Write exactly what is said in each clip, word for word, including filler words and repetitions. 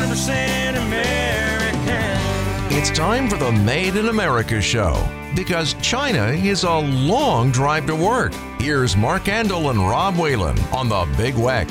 percent American. It's time for the Made in America show, because China is a long drive to work. Here's Mark Andel and Rob Whalen on the Big Weck.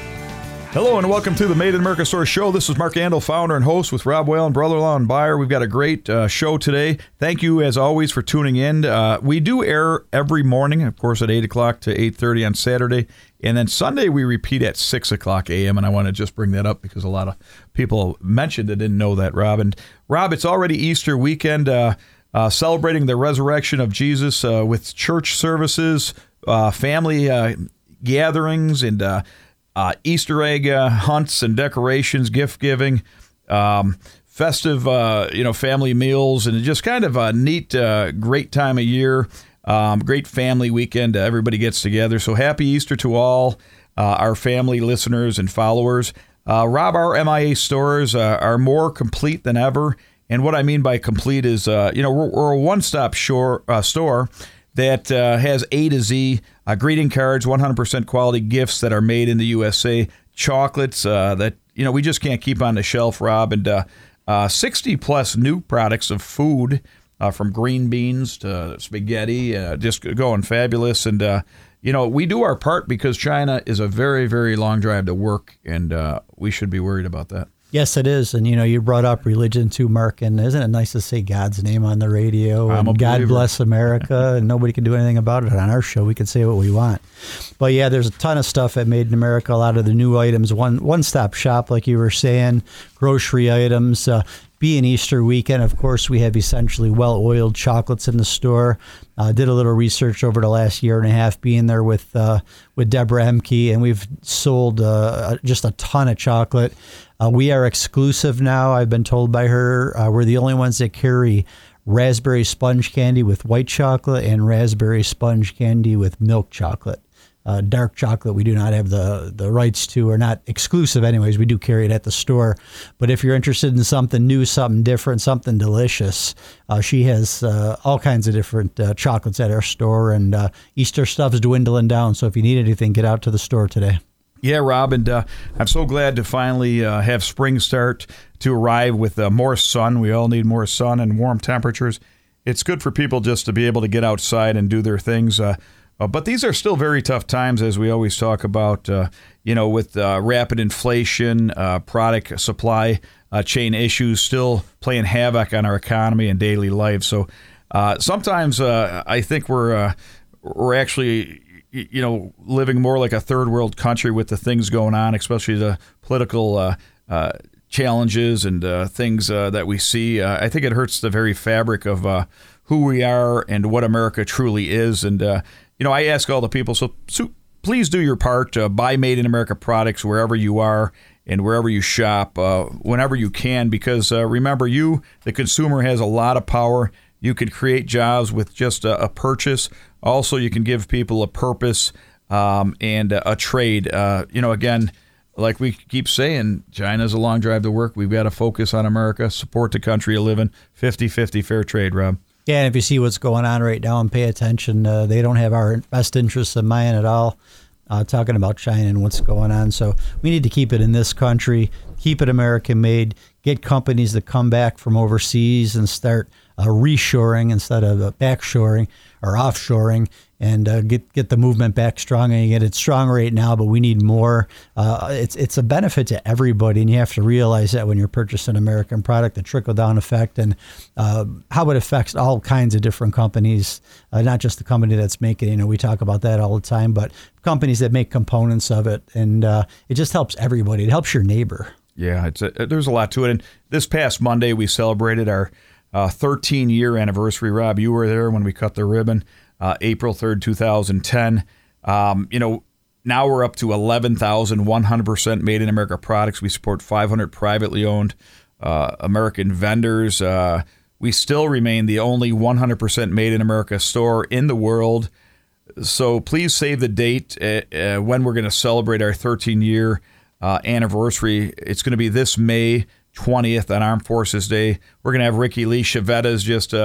Hello and welcome to the Made in America Store Show. This is Mark Andel, founder and host with Rob Whalen, brother-in-law and buyer. We've got a great uh, show today. Thank you, as always, for tuning in. Uh, we do air every morning, of course, at eight o'clock to eight thirty on Saturday. And then Sunday, we repeat at six o'clock a.m. And I want to just bring that up because a lot of people mentioned that didn't know that, Rob. And Rob, it's already Easter weekend, uh, uh, celebrating the resurrection of Jesus uh, with church services, uh, family uh, gatherings, and uh, uh, Easter egg uh, hunts and decorations, gift giving, um, festive, uh, you know, family meals, and just kind of a neat, uh, great time of year. Um, great family weekend. Uh, everybody gets together. So happy Easter to all uh, our family listeners and followers. Uh, Rob, our M I A stores uh, are more complete than ever. And what I mean by complete is, uh, you know, we're, we're a one-stop shore, uh, store that uh, has A to Z, uh, greeting cards, one hundred percent quality gifts that are made in the U S A, chocolates uh, that, you know, we just can't keep on the shelf, Rob, and uh, uh, sixty plus new products of food. Uh, from green beans to spaghetti, uh, just going fabulous. And, uh, you know, we do our part because China is a very, very long drive to work, and uh, we should be worried about that. Yes, it is. And, you know, you brought up religion too, Mark, and isn't it nice to say God's name on the radio? I'm and a God believer. bless America, and nobody can do anything about it. On our show, we can say what we want. But, yeah, there's a ton of stuff at Made in America, a lot of the new items, one, one-stop shop, like you were saying, grocery items. Uh, being Easter weekend, of course, we have essentially well-oiled chocolates in the store. Uh, did a little research over the last year and a half being there with uh, with Deborah Emke, and we've sold uh, just a ton of chocolate. Uh, we are exclusive now, I've been told by her. Uh, we're the only ones that carry raspberry sponge candy with white chocolate and raspberry sponge candy with milk chocolate. Uh, dark chocolate we do not have the, the rights to, or not exclusive anyways. We do carry it at the store. But if you're interested in something new, something different, something delicious, uh, she has uh, all kinds of different uh, chocolates at our store, and uh, Easter stuff's dwindling down. So if you need anything, get out to the store today. Yeah, Rob, and uh, I'm so glad to finally uh, have spring start to arrive with uh, more sun. We all need more sun and warm temperatures. It's good for people just to be able to get outside and do their things. Uh, Uh, but these are still very tough times, as we always talk about, uh, you know, with uh, rapid inflation, uh, product supply uh, chain issues still playing havoc on our economy and daily life. So uh, sometimes uh, I think we're uh, we're actually, you know, living more like a third world country with the things going on, especially the political uh, uh, challenges and uh, things uh, that we see. Uh, I think it hurts the very fabric of uh, who we are and what America truly is. And uh, You know, I ask all the people, so, so please do your part. Uh, buy Made in America products wherever you are and wherever you shop, uh, whenever you can, because uh, remember, you, the consumer, has a lot of power. You can create jobs with just a, a purchase. Also, you can give people a purpose um, and a, a trade. Uh, you know, again, like we keep saying, China's a long drive to work. We've got to focus on America, support the country of living, fifty-fifty fair trade, Rob. Yeah, and if you see what's going on right now and pay attention, uh, they don't have our best interests in mind at all, uh, talking about China and what's going on. So we need to keep it in this country, keep it American-made, get companies that come back from overseas and start uh, reshoring instead of uh, backshoring or offshoring, and uh, get get the movement back strong. And get it strong right now, but we need more. Uh, it's it's a benefit to everybody, and you have to realize that when you're purchasing an American product, the trickle-down effect, and uh, how it affects all kinds of different companies, uh, not just the company that's making it. You know, we talk about that all the time, but companies that make components of it, and uh, it just helps everybody. It helps your neighbor. Yeah, it's a, there's a lot to it. And this past Monday, we celebrated our uh, thirteen-year anniversary. Rob, you were there when we cut the ribbon, uh, April third, two thousand ten. Um, you know, now we're up to eleven thousand one hundred percent Made in America products. We support five hundred privately owned uh, American vendors. Uh, we still remain the only one hundred percent Made in America store in the world. So please save the date uh, uh, when we're going to celebrate our thirteen-year Uh, anniversary. It's going to be this May twentieth on Armed Forces Day. We're going to have Ricky Lee Chavetta's just uh,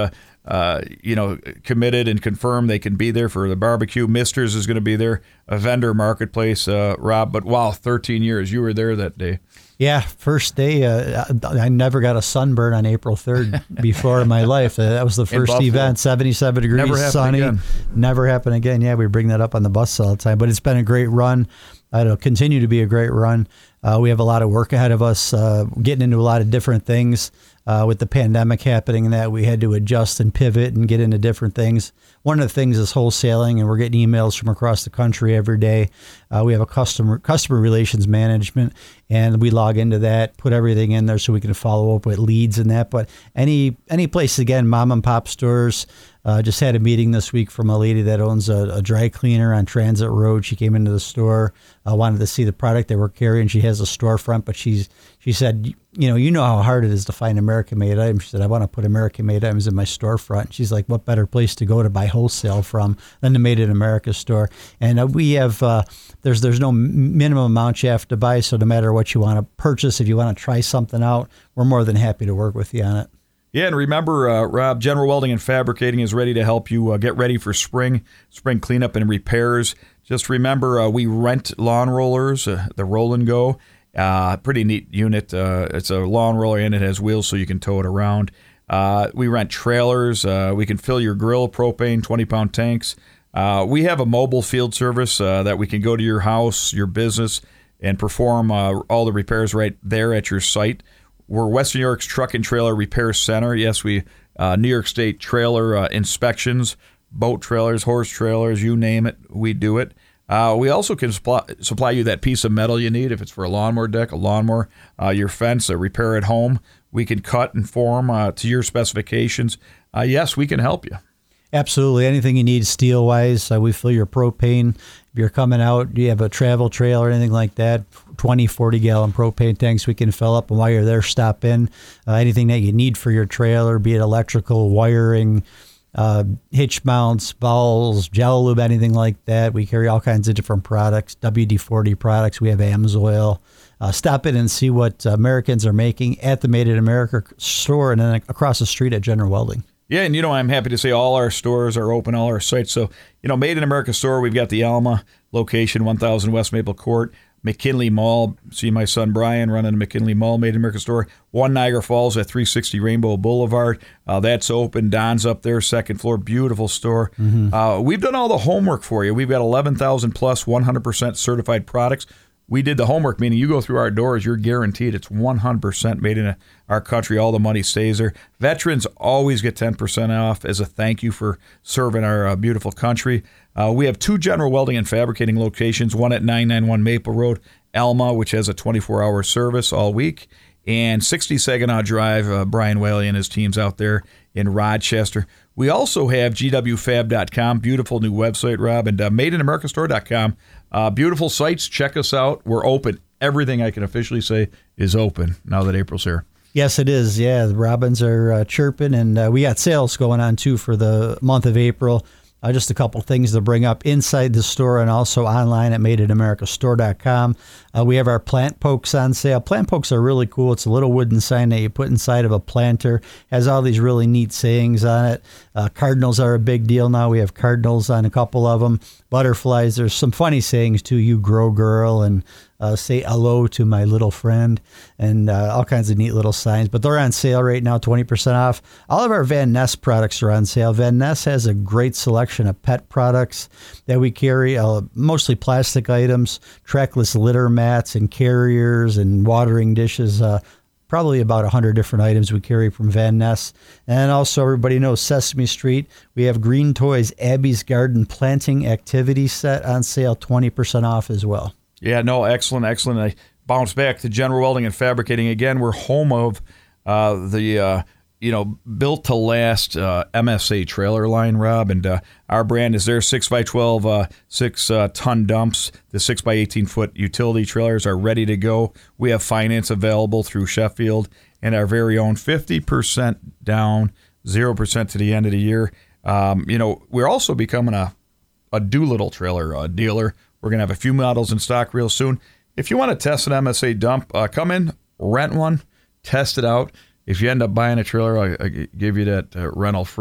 uh, you know, committed and confirmed they can be there for the barbecue. Mister's is going to be there, a vendor marketplace, uh, Rob. But wow, thirteen years. You were there that day. Yeah, first day. Uh, I never got a sunburn on April third before in my life. Uh, that was the first event, seventy-seven degrees, Never sunny. Again. Never happened again. Yeah, we bring that up on the bus all the time. But it's been a great run. It'll continue to be a great run. Uh, we have a lot of work ahead of us, uh, getting into a lot of different things. Uh, with the pandemic happening and that, we had to adjust and pivot and get into different things. One of the things is wholesaling, and we're getting emails from across the country every day. Uh, we have a customer customer relations management, and we log into that, put everything in there so we can follow up with leads and that. But any any place, again, mom and pop stores. Uh, just had a meeting this week from a lady that owns a, a dry cleaner on Transit Road. She came into the store, uh, wanted to see the product they were carrying. She has a storefront, but she's she said, you know, you know how hard it is to find American-made items. She said, I want to put American-made items in my storefront. She's like, what better place to go to buy wholesale from than the Made in America store? And uh, we have, uh, there's there's no minimum amount you have to buy, so no matter what you want to purchase, if you want to try something out, we're more than happy to work with you on it. Yeah, and remember, uh, Rob, General Welding and Fabricating is ready to help you uh, get ready for spring, spring cleanup and repairs. Just remember, uh, we rent lawn rollers, uh, the Roll and Go. Uh, pretty neat unit. Uh, it's a lawn roller and it has wheels so you can tow it around. Uh, we rent trailers. Uh, we can fill your grill, propane, twenty-pound tanks. Uh, we have a mobile field service uh, that we can go to your house, your business, and perform uh, all the repairs right there at your site. We're Western New York's Truck and Trailer Repair Center. Yes, we uh, New York State trailer uh, inspections, boat trailers, horse trailers, you name it, we do it. Uh, we also can supply, supply you that piece of metal you need if it's for a lawnmower deck, a lawnmower, uh, your fence, a repair at home. We can cut and form uh, to your specifications. Uh, yes, we can help you. Absolutely. Anything you need steel-wise, uh, we fill your propane. If you're coming out, you have a travel trailer or anything like that, twenty, forty-gallon propane tanks we can fill up. And while you're there, stop in. Uh, anything that you need for your trailer, be it electrical, wiring, uh, hitch mounts, bowls, gel lube, anything like that. We carry all kinds of different products, W D forty products. We have AMSOIL. Uh, stop in and see what Americans are making at the Made in America store and then across the street at General Welding. Yeah, and you know, I'm happy to say all our stores are open, all our sites. So, you know, Made in America store, we've got the Alma location, one thousand West Maple Court, McKinley Mall. See my son Brian running the McKinley Mall Made in America store. One Niagara Falls at three sixty Rainbow Boulevard. Uh, that's open. Don's up there, second floor, beautiful store. Mm-hmm. Uh, we've done all the homework for you. We've got eleven thousand plus one hundred percent certified products. We did the homework, meaning you go through our doors, you're guaranteed it's one hundred percent made in our country. All the money stays there. Veterans always get ten percent off as a thank you for serving our uh, beautiful country. Uh, we have two General Welding and Fabricating locations, one at nine ninety-one Maple Road, Alma, which has a twenty-four hour service all week, and sixty Saginaw Drive, uh, Brian Whaley and his team's out there in Rochester. We also have G W fab dot com, beautiful new website, Rob, and uh, made in america store dot com. Uh, beautiful sites. Check us out. We're open. Everything I can officially say is open now that April's here. Yes, it is. Yeah, the robins are uh, chirping, and uh, we got sales going on, too, for the month of April. Uh, just a couple things to bring up inside the store and also online at made in america store dot com. Uh, we have our plant pokes on sale. Plant pokes are really cool. It's a little wooden sign that you put inside of a planter. Has all these really neat sayings on it. Uh, cardinals are a big deal now. We have cardinals on a couple of them. Butterflies. There's some funny sayings, too. You grow girl and uh, say hello to my little friend and uh, all kinds of neat little signs. But they're on sale right now, twenty percent off. All of our Van Ness products are on sale. Van Ness has a great selection of pet products that we carry, uh, mostly plastic items, trackless litter mats and carriers and watering dishes. Uh, probably about one hundred different items we carry from Van Ness. And also, everybody knows Sesame Street. We have Green Toys Abby's Garden Planting Activity Set on sale, twenty percent off as well. Yeah, no, excellent, excellent. I bounce back to General Welding and Fabricating. Again, we're home of uh, the, uh, you know, built-to-last uh, M S A trailer line, Rob, and uh, our brand is there, six by twelve, uh, six-ton uh, dumps. The six by eighteen-foot utility trailers are ready to go. We have finance available through Sheffield and our very own fifty percent down, zero percent to the end of the year. Um, you know, we're also becoming a, a Doolittle trailer uh, dealer. We're going to have a few models in stock real soon. If you want to test an M S A dump, uh, come in, rent one, test it out. If you end up buying a trailer, I'll, I'll give you that uh, rental free.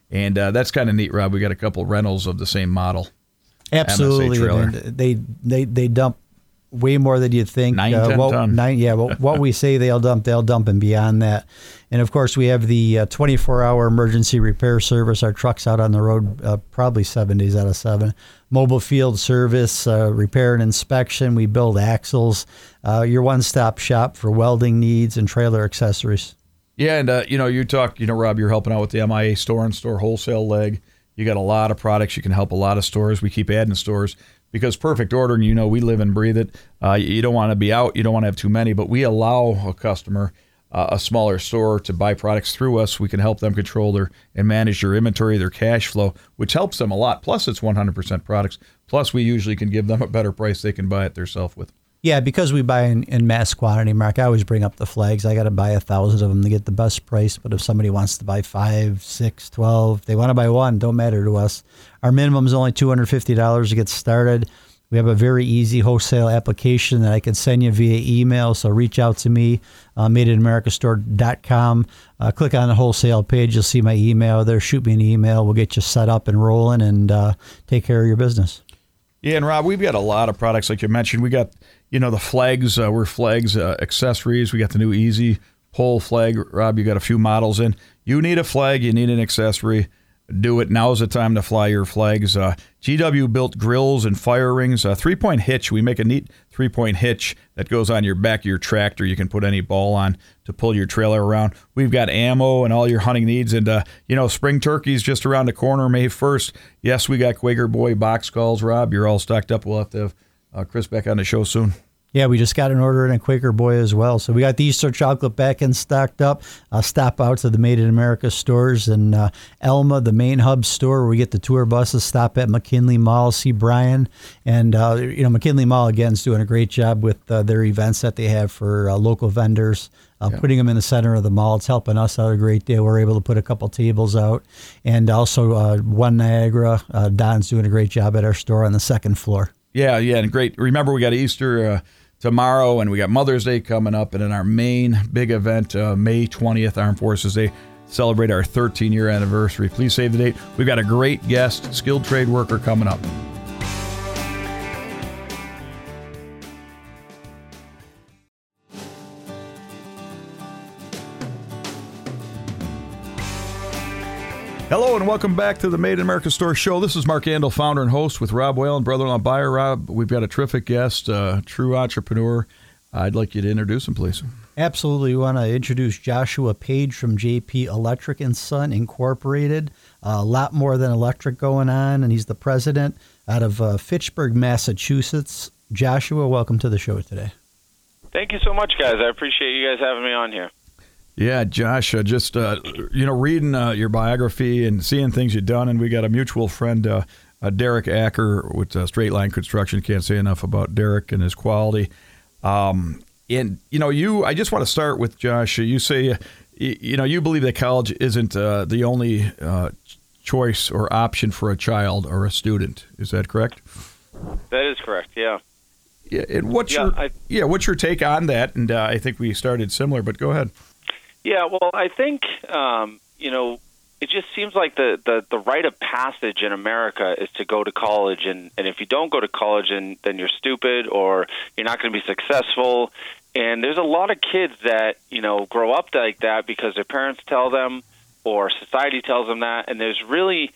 And uh, that's kind of neat, Rob. We got a couple rentals of the same model. Absolutely. And they, they, they dump way more than you'd think. Nine, uh, ten what, ton. Nine, yeah, well, what we say they'll dump, they'll dump and beyond that. And, of course, we have the uh, twenty-four hour emergency repair service. Our truck's out on the road uh, probably seven days out of seven. Mobile field service, uh, repair and inspection. We build axles. Uh, your one-stop shop for welding needs and trailer accessories. Yeah, and, uh, you know, you talk, you know, Rob, you're helping out with the M I A store and store wholesale leg. You got a lot of products. You can help a lot of stores. We keep adding stores. Because perfect ordering, you know, we live and breathe it. Uh, you don't want to be out. You don't want to have too many. But we allow a customer, uh, a smaller store, to buy products through us. We can help them control their and manage their inventory, their cash flow, which helps them a lot. Plus, it's one hundred percent products. Plus, we usually can give them a better price they can buy it themselves with. Yeah, because we buy in, in mass quantity, Mark, I always bring up the flags. I got to buy a thousand of them to get the best price. But if somebody wants to buy five, six, twelve, they want to buy one, don't matter to us. Our minimum is only two hundred fifty dollars to get started. We have a very easy wholesale application that I can send you via email. So reach out to me, uh, made in america store dot com. Uh, click on the wholesale page. You'll see my email there. Shoot me an email. We'll get you set up and rolling and uh, take care of your business. Yeah, and Rob, we've got a lot of products like you mentioned. We got, you know, the flags. Uh, we're flags, uh, accessories. We got the new Easy Pole flag. Rob, you got a few models in. You need a flag. You need an accessory. Do it. Now's the time to fly your flags. Uh, G W built grills and fire rings. Uh, three-point hitch. We make a neat three-point hitch that goes on your back of your tractor. You can put any ball on to pull your trailer around. We've got ammo and all your hunting needs. And, uh, you know, spring turkey's just around the corner, May first. Yes, we got Quaker Boy box calls, Rob. You're all stocked up. We'll have to have uh, Chris back on the show soon. Yeah, we just got an order in a Quaker Boy as well. So we got the Easter chocolate back in stocked up. Uh, stop out to the Made in America stores in uh, Elma, the main hub store where we get the tour buses. Stop at McKinley Mall, see Brian. And, uh, you know, McKinley Mall, again, is doing a great job with uh, their events that they have for uh, local vendors, uh, yeah. putting them in the center of the mall. It's helping us out a great deal. We're able to put a couple tables out. And also uh, One Niagara, uh, Don's doing a great job at our store on the second floor. Yeah, yeah, and great. Remember, we got Easter uh, tomorrow, and we got Mother's Day coming up, and in our main big event, uh, May twentieth, Armed Forces Day, celebrate our thirteen-year anniversary. Please save the date. We've got a great guest, skilled trade worker, coming up. Hello and welcome back to the Made in America Store Show. This is Mark Andel, founder and host with Rob Whalen, brother-in-law buyer. Rob, we've got a terrific guest, a true entrepreneur. I'd like you to introduce him, please. Absolutely. We want to introduce Joshua Page from J P Electric and Son Incorporated. Uh, a lot more than electric going on, and he's the president out of uh, Fitchburg, Massachusetts. Joshua, welcome to the show today. Thank you so much, guys. I appreciate you guys having me on here. Yeah, Josh, uh, just, uh, you know, reading uh, your biography and seeing things you've done, and we got a mutual friend, uh, uh, Derek Acker with uh, Straight Line Construction. Can't say enough about Derek and his quality. Um, and, you know, you, I just want to start with, Josh, you say, uh, you, you know, you believe that college isn't uh, the only uh, choice or option for a child or a student. Is that correct? That is correct, yeah. Yeah, and what's yeah, your I, yeah, what's your take on that? And uh, I think we started similar, but go ahead. Yeah, well, I think, um, you know, it just seems like the, the, the rite of passage in America is to go to college. And, and if you don't go to college, and, then you're stupid or you're not going to be successful. And there's a lot of kids that, you know, grow up like that because their parents tell them or society tells them that. And there's really,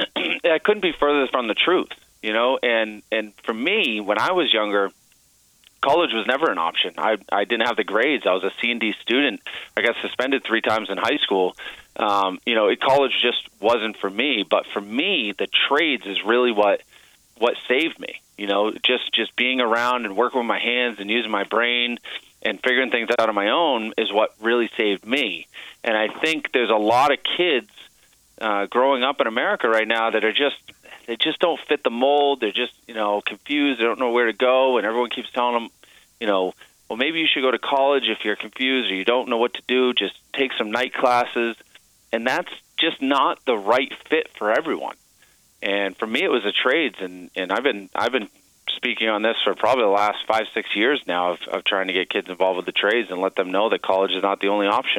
I couldn't be further from the truth, you know. And, and for me, when I was younger, college was never an option. I I didn't have the grades. I was a C and D student. I got suspended three times in high school. Um, you know, it, college just wasn't for me. But for me, the trades is really what what saved me. You know, just just being around and working with my hands and using my brain and figuring things out on my own is what really saved me. And I think there's a lot of kids uh, growing up in America right now that are just they just don't fit the mold. They're just, you know, confused. They don't know where to go. And everyone keeps telling them, you know, well, maybe you should go to college if you're confused or you don't know what to do. Just take some night classes. And that's just not the right fit for everyone. And for me, it was the trades. And, and I've been I've been speaking on this for probably the last five, six years now of, of trying to get kids involved with the trades and let them know that college is not the only option.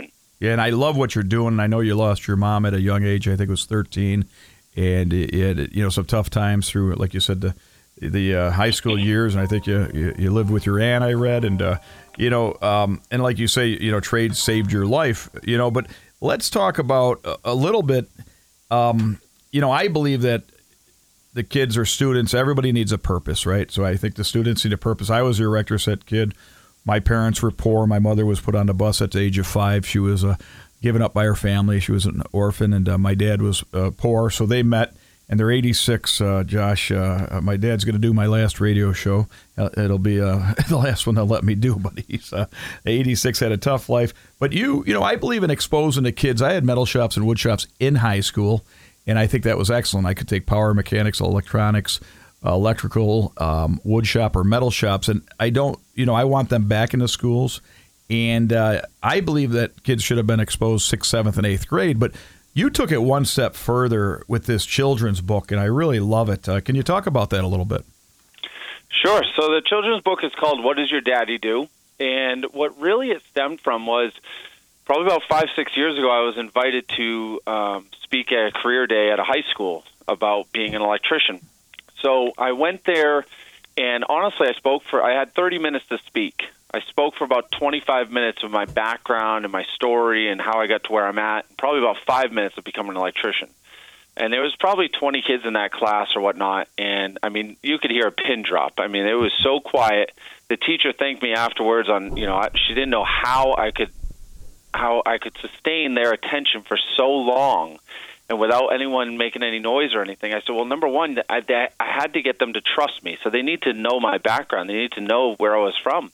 Yeah, and I love what you're doing. I know you lost your mom at a young age. I think it was thirteen, and you had, you know, some tough times through, like you said, the the uh, high school years. And I think you, you you lived with your aunt, I read, and uh, you know, um, and like you say, you know, trade saved your life. You know, but let's talk about a, a little bit. Um, you know, I believe that the kids or students, everybody needs a purpose, right? So I think the students need a purpose. I was your rector set kid. My parents were poor. My mother was put on the bus at the age of five. She was uh, given up by her family. She was an orphan, and uh, my dad was uh, poor. So they met, and they're eighty-six, uh, Josh. Uh, my dad's going to do my last radio show. Uh, it'll be uh, the last one they'll let me do, but he's uh, eighty-six, had a tough life. But you, you know, I believe in exposing the kids. I had metal shops and wood shops in high school, and I think that was excellent. I could take power mechanics, electronics, uh, electrical, um, wood shop, or metal shops, and I don't, you know, I want them back in the schools. And uh, I believe that kids should have been exposed sixth, seventh, and eighth grade. But you took it one step further with this children's book, and I really love it. Uh, can you talk about that a little bit? Sure. So the children's book is called What Does Your Daddy Do? And what really it stemmed from was probably about five, six years ago, I was invited to um, speak at a career day at a high school about being an electrician. So I went there, and honestly, I spoke for, I had thirty minutes to speak. I spoke for about twenty-five minutes of my background and my story and how I got to where I'm at, and probably about five minutes of becoming an electrician. And there was probably twenty kids in that class or whatnot, and, I mean, you could hear a pin drop. I mean, it was so quiet. The teacher thanked me afterwards on, you know, she didn't know how I could how I could sustain their attention for so long and without anyone making any noise or anything. I said, well, number one, I, I had to get them to trust me. So they need to know my background. They need to know where I was from.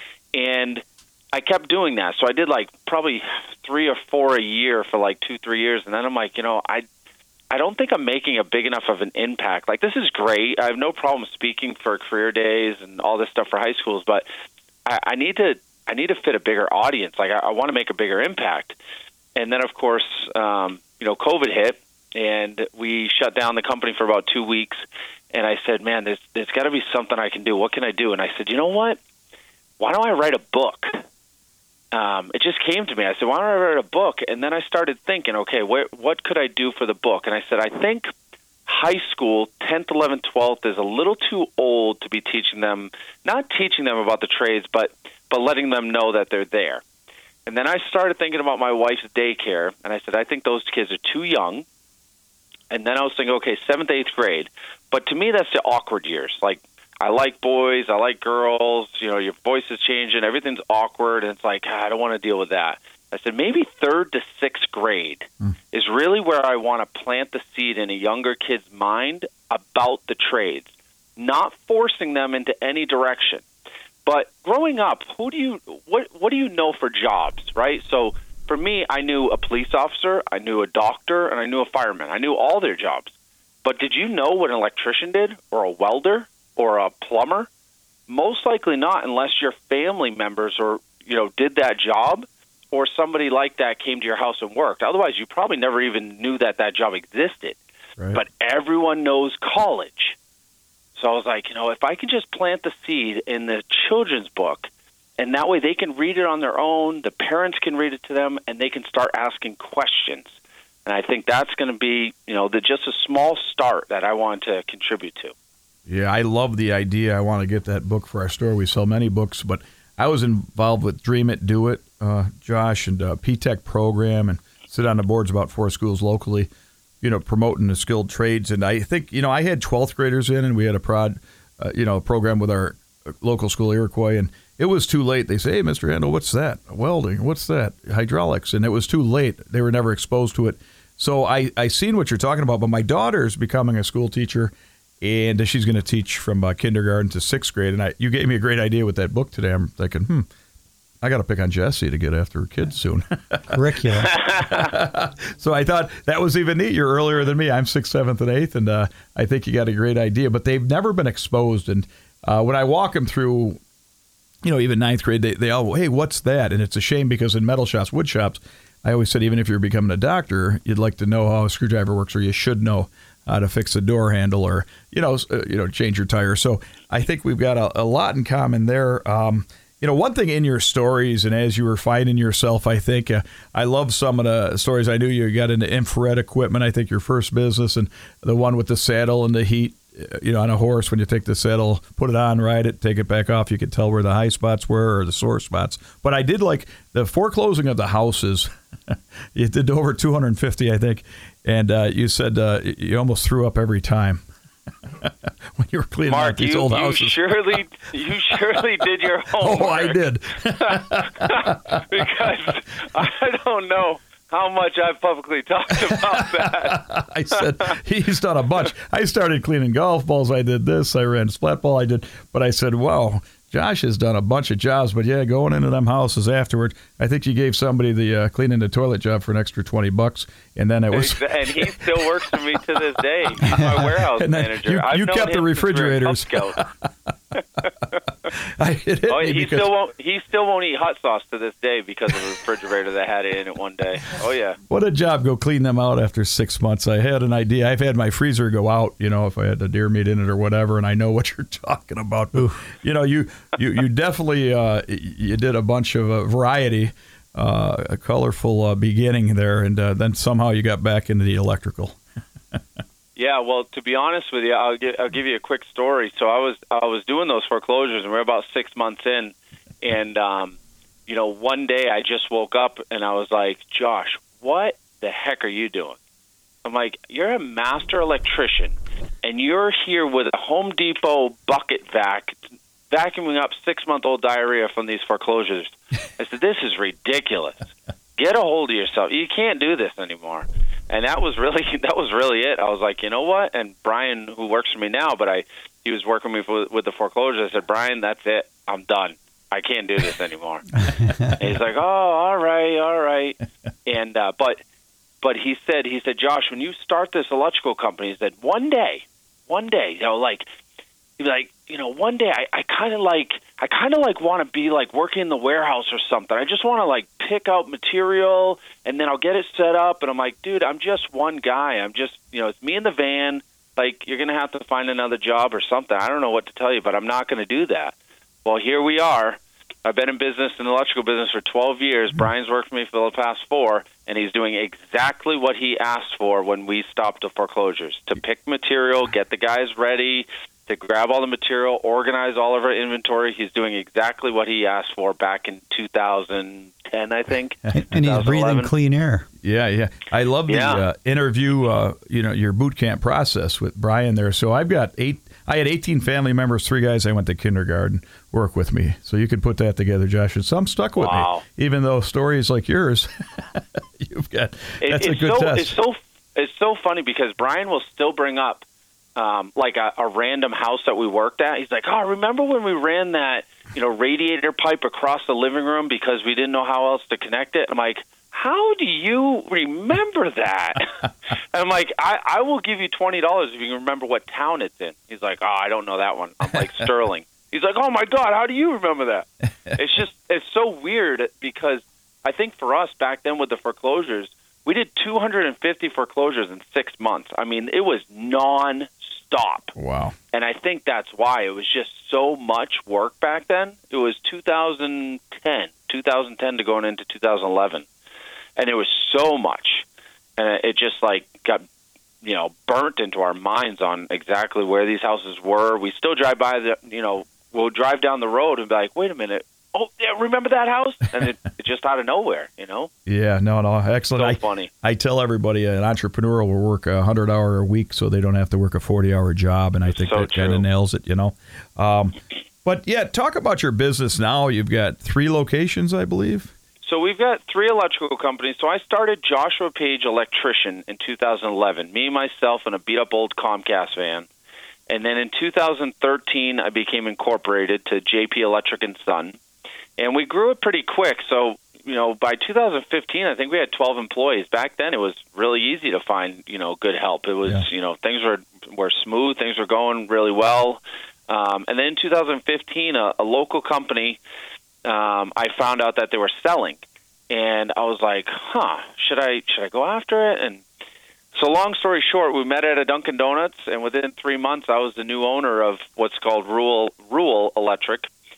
And I kept doing that. So I did like probably three or four a year for like two, three years. And then I'm like, you know, I I don't think I'm making a big enough of an impact. Like, this is great. I have no problem speaking for career days and all this stuff for high schools, but I, I need to I need to fit a bigger audience. Like, I, I want to make a bigger impact. And then, of course, um, you know, COVID hit, and we shut down the company for about two weeks. And I said, man, there's there's got to be something I can do. What can I do? And I said, you know what? Why don't I write a book? Um, it just came to me. I said, why don't I write a book? And then I started thinking, okay, where, what could I do for the book? And I said, I think high school, tenth, eleventh, twelfth, is a little too old to be teaching them, not teaching them about the trades, but but letting them know that they're there. And then I started thinking about my wife's daycare, and I said, I think those kids are too young. And then I was thinking, okay, seventh, eighth grade. But to me, that's the awkward years. Like, I like boys, I like girls, you know, your voice is changing, everything's awkward, and it's like, ah, I don't want to deal with that. I said, maybe third to sixth grade mm. is really where I want to plant the seed in a younger kid's mind about the trades, not forcing them into any direction. But growing up, who do you what what do you know for jobs, right? So for me, I knew a police officer, I knew a doctor, and I knew a fireman. I knew all their jobs. But did you know what an electrician did, or a welder, or a plumber? Most likely not, unless your family members or you know did that job, or somebody like that came to your house and worked. Otherwise, you probably never even knew that that job existed. Right. But everyone knows college. So I was like, you know, if I can just plant the seed in the children's book, and that way they can read it on their own, the parents can read it to them, and they can start asking questions. And I think that's going to be, you know, the, just a small start that I want to contribute to. Yeah, I love the idea. I want to get that book for our store. We sell many books, but I was involved with Dream It, Do It, uh, Josh, and uh, P TECH program, and sit on the boards about four schools locally, you know, promoting the skilled trades. And I think, you know, I had twelfth graders in, and we had a prod, uh, you know, program with our local school, Iroquois, and it was too late. They say, hey, Mister Handel, what's that? Welding, what's that? Hydraulics. And it was too late. They were never exposed to it. So I, I seen what you're talking about, but my daughter's becoming a school teacher, and she's going to teach from uh, kindergarten to sixth grade. And I, you gave me a great idea with that book today. I'm thinking, hmm, I got to pick on Jessie to get after her kids soon. Curriculum. So I thought that was even neat. You're earlier than me. I'm sixth, seventh, and eighth, and uh, I think you got a great idea. But they've never been exposed. And uh, when I walk them through, you know, even ninth grade, they, they all, hey, what's that? And it's a shame because in metal shops, wood shops, I always said even if you're becoming a doctor, you'd like to know how a screwdriver works, or you should know how to fix a door handle, or, you know, uh, you know, change your tire. So I think we've got a, a lot in common there. Um, You know, one thing in your stories, and as you were finding yourself, I think uh, I love some of the stories. I knew you got into infrared equipment. I think your first business, and the one with the saddle and the heat. You know, on a horse, when you take the saddle, put it on, ride it, take it back off, you could tell where the high spots were or the sore spots. But I did like the foreclosing of the houses. You did over two hundred fifty, I think, and uh, you said uh, you almost threw up every time when you were cleaning Mark, out these you, old you houses. surely, you surely did your homework. Oh, I did. Because I don't know how much I've publicly talked about that. I said, he's done a bunch. I started cleaning golf balls. I did this. I ran splat ball. I did. But I said, wow, Josh has done a bunch of jobs. But, yeah, going into them houses afterward, I think you gave somebody the uh, cleaning the toilet job for an extra twenty bucks. And then it was. And he still works for me to this day. He's my warehouse manager. You, I've you known kept the him refrigerators. since we were Cub I, it hit oh, me he because, still won't. He still won't eat hot sauce to this day because of the refrigerator that had it in it one day. Oh yeah. What a job! Go clean them out after six months. I had an idea. I've had my freezer go out. You know, if I had the deer meat in it or whatever, and I know what you're talking about. But, you know, you you you definitely uh, you did a bunch of uh, variety, uh, a colorful uh, beginning there, and uh, then somehow you got back into the electrical. Yeah, well, to be honest with you, I'll give, I'll give you a quick story. So I was I was doing those foreclosures, and we we're about six months in, and um, you know, one day I just woke up and I was like, Josh, what the heck are you doing? I'm like, you're a master electrician, and you're here with a Home Depot bucket vac, vacuuming up six-month-old diarrhea from these foreclosures. I said, this is ridiculous. Get a hold of yourself. You can't do this anymore. And that was really that was really it. I was like, you know what? And Brian, who works for me now, but I he was working with me with, with the foreclosures. I said, Brian, that's it. I'm done. I can't do this anymore. And he's like, oh, all right, all right. And uh, but but he said he said, Josh, when you start this electrical company, he said, one day, one day, you know, like he'd be like, you know, one day I, I kind of like I kind of like want to be like working in the warehouse or something. I just want to like pick out material and then I'll get it set up. And I'm like, dude, I'm just one guy. I'm just, you know, it's me in the van. Like, you're going to have to find another job or something. I don't know what to tell you, but I'm not going to do that. Well, here we are. I've been in business, in the electrical business for twelve years. Mm-hmm. Brian's worked for me for the past four, and he's doing exactly what he asked for when we stopped the foreclosures, to pick material, get the guys ready, to grab all the material, organize all of our inventory. He's doing exactly what he asked for back in two thousand ten, I think. And he's breathing clean air. Yeah, yeah. I love the Yeah. uh, interview, uh, you know, your boot camp process with Brian there. So I've got eight, I had eighteen family members, three guys I went to kindergarten work with me. So you could put that together, Josh. And some stuck with Wow. me, even though stories like yours, you've got, that's it, a good so, test. It's so, it's so funny because Brian will still bring up Um, like a, a random house that we worked at. He's like, oh, remember when we ran that, you know, radiator pipe across the living room because we didn't know how else to connect it? I'm like, how do you remember that? I'm like, I, I will give you twenty dollars if you can remember what town it's in. He's like, oh, I don't know that one. I'm like, Sterling. He's like, oh, my God, how do you remember that? It's just, it's so weird because I think for us back then with the foreclosures, we did two hundred fifty foreclosures in six months. I mean, it was non-stop. Wow. And I think that's why. It was just so much work back then. It was two thousand ten, two thousand ten to going into two thousand eleven. And it was so much. And it just, like, got, you know, burnt into our minds on exactly where these houses were. We still drive by the, you know, we'll drive down the road and be like, wait a minute. Oh, yeah, remember that house? And it, it just out of nowhere, you know? Yeah, no, no, excellent. So I, funny. I tell everybody an entrepreneur will work a hundred hour a week so they don't have to work a forty hour job, and I think So that kind true. of nails it, you know. Um, but yeah, talk about your business now. You've got three locations, I believe. So we've got three electrical companies. So I started Joshua Page Electrician in two thousand eleven, me, myself, and a beat-up old Comcast van. And then in two thousand thirteen, I became incorporated to J P Electric and Son. And we grew it pretty quick. So, you know, by two thousand fifteen, I think we had twelve employees. Back then, it was really easy to find, you know, good help. It was, Yeah. you know, things were were smooth. Things were going really well. Um, and then in two thousand fifteen, a, a local company, um, I found out that they were selling. And I was like, huh, should I should I go after it? And so long story short, we met at a Dunkin' Donuts, and within three months, I was the new owner of what's called Rural, Rural Electric.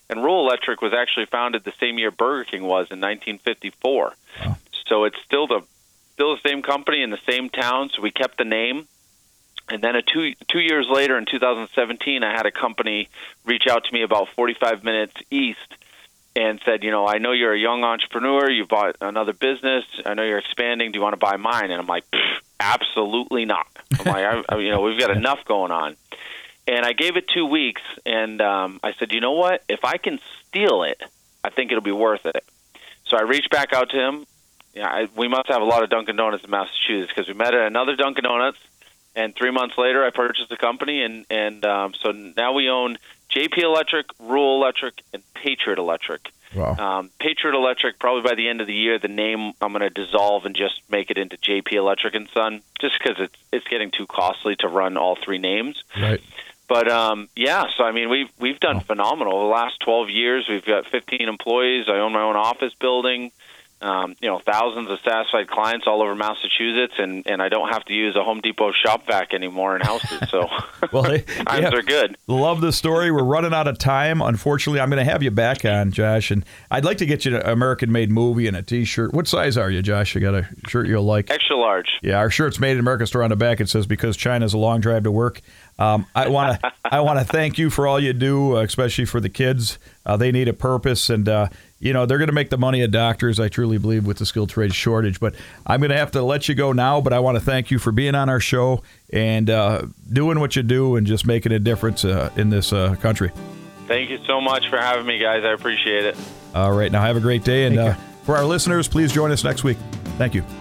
And Rural Electric was actually founded the same year Burger King was in nineteen fifty-four. Wow. So it's still the still the same company in the same town. So we kept the name. And then a two two years later, in two thousand seventeen, I had a company reach out to me about forty-five minutes east and said, you know, I know you're a young entrepreneur. You bought another business. I know you're expanding. Do you want to buy mine? And I'm like, absolutely not. I'm like, I, I, you know, we've got enough going on. And I gave it two weeks, and um, I said, you know what? If I can steal it, I think it'll be worth it. So I reached back out to him. Yeah, I, we must have a lot of Dunkin' Donuts in Massachusetts because we met at another Dunkin' Donuts. And three months later, I purchased the company, and and um, so now we own J P Electric, Rural Electric, and Patriot Electric. Wow. Um, Patriot Electric, probably by the end of the year, the name I'm going to dissolve and just make it into J P Electric and Son, just because it's it's getting too costly to run all three names. Right. But um, yeah, so I mean, we've we've done oh. phenomenal. The last twelve years, we've got fifteen employees. I own my own office building. Um, you know, thousands of satisfied clients all over Massachusetts, and, and I don't have to use a Home Depot shop vac anymore in houses. So well, hey, times yeah, are good. Love the story. We're running out of time. Unfortunately, I'm going to have you back on, Josh, and I'd like to get you an American-made movie and a T-shirt. What size are you, Josh? You got a shirt you'll like? Extra large. Yeah, our shirt's Made in America store on the back. It says, because China's a long drive to work. Um, I want to I want to thank you for all you do, uh, especially for the kids. Uh, they need a purpose, and uh, you know they're going to make the money of doctors. I truly believe with the skilled trade shortage. But I'm going to have to let you go now. But I want to thank you for being on our show and uh, doing what you do and just making a difference uh, in this uh, country. Thank you so much for having me, guys. I appreciate it. All right, now have a great day, and uh, for our listeners, please join us next week. Thank you.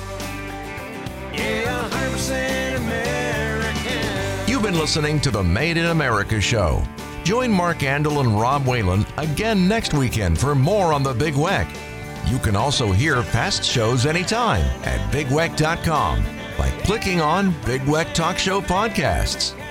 Yeah, one hundred percent American. You've been listening to the Made in America show. Join Mark Andel and Rob Whalen again next weekend for more on the Big Weck. You can also hear past shows anytime at big weck dot com by clicking on Big Weck Talk Show Podcasts.